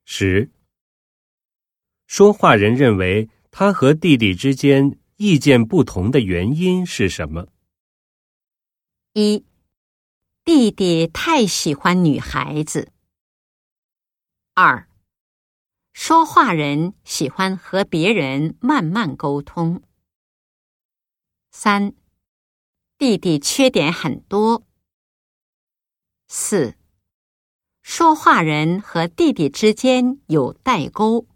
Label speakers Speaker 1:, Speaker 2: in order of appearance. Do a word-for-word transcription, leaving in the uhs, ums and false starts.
Speaker 1: 十、说话人认为他和弟弟之间意见不同的原因是什么？
Speaker 2: 一、弟弟太喜欢女孩子。二、说话人喜欢和别人慢慢沟通。三、弟弟缺点很多。四、说话人和弟弟之间有代沟。